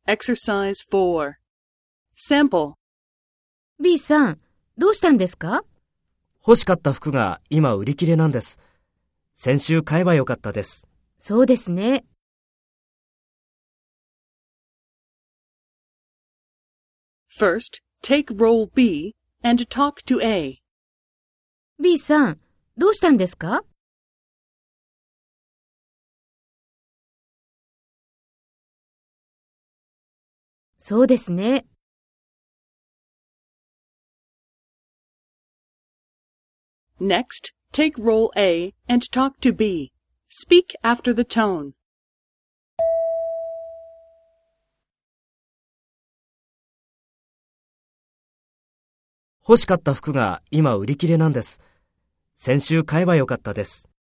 Exercise 4. Sample. B さん、どうしたんですか？ 欲しかった服が今売り切れなんです。先週買えばよかったです。 そうですね。 First, take role B and talk to A. B さん、どうしたんですか？そうですね。 Next, take role A and talk to B. Speak after the tone. 欲しかった服が今売り切れなんです。先週買えばよかったです。